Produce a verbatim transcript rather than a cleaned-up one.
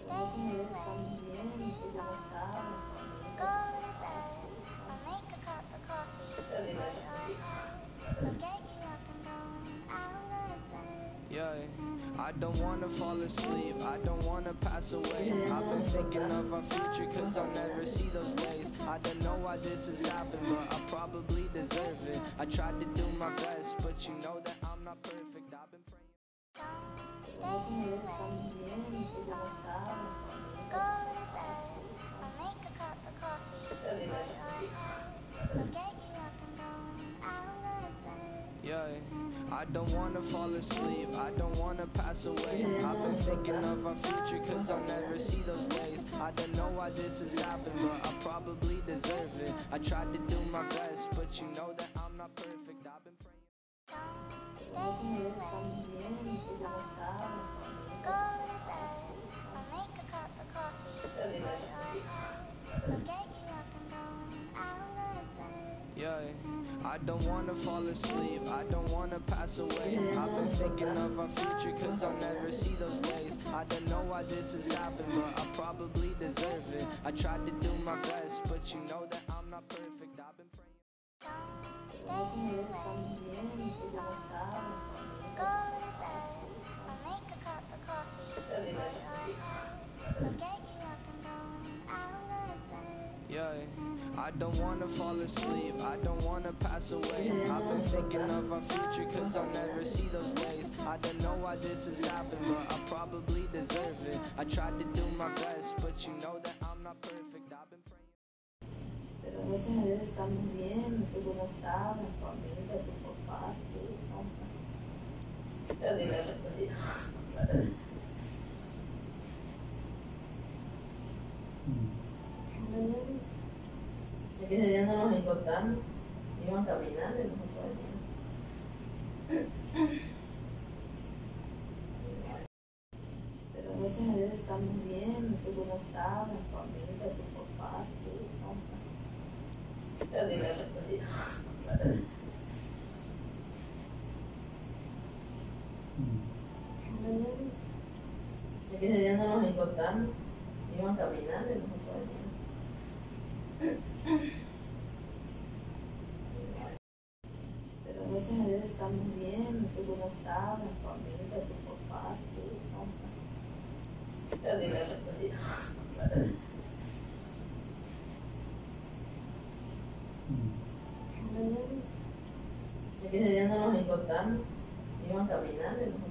Gracias a Dios estamos bien. ¿Y tú cómo estás? Go to bed, I'll make a cup of coffee for your head. I'll get you up and going out of bed. Yeah, I don't wanna fall asleep, I don't wanna pass away. I've been thinking of our future cause I'll never see those days. I don't know why this has happened, but I probably deserve it. I tried to do my best, but you know that I'm not perfect. I've been praying. Don't stay Gracias a Dios awake. estamos bien. ¿Y tú cómo estás? Go to bed, I'll make a cup of coffee for your head. I'll get you up and going out of bed. Yeah, I don't wanna fall asleep, I don't wanna pass away. I've been thinking of our future cause I'll never see those days. I don't know why this has happened, but I probably deserve it. I tried to do my best, but you know that I'm not perfect. I've been praying. Don't stay Gracias a Dios awake. estamos bien. ¿Y tú cómo estás? Go to bed, I'll make a cup of coffee for your head. I'll get you up and going out of bed. Yeah, I don't wanna fall asleep, I don't wanna pass away. I've been thinking of our future cause I'll never see those days. I don't know why this has happened, but I probably deserve it. I tried to do my best, but you know that I'm not perfect. I've been praying. Don't stay Gracias a Dios awake. estamos bien. ¿Y tú cómo estás? Go to bed, I'll make a cup of coffee for your head. I'll get you up and going out of bed. Yeah, I don't wanna fall asleep, I don't wanna pass away. I've been thinking of our future cause I'll never see those days. I don't know why this has happened, but I probably deserve it. I tried to do my best, but you know that I'm not perfect. I've been praying. Pero gracias a Dios estamos bien. ¿Y tú cómo estás? La familia, tus papás, tú, ¿cómo estás? Ya dile, respondí. Es que ese día no nos encontramos, iban caminando y nos encontramos. Pero gracias a Dios estamos bien. ¿Y tú cómo estás? La familia, tus papás, tú, ¿cómo estás? Ya dile, respondí. Es que ese día no nos encontramos, iban caminando y nos encontramos. Pero gracias a Dios estamos bien. ¿Y tú cómo estás? La familia, tus papás, tú, ¿cómo estás? Ya dile, respondí. Es que ese día no nos encontramos, iban caminando y nos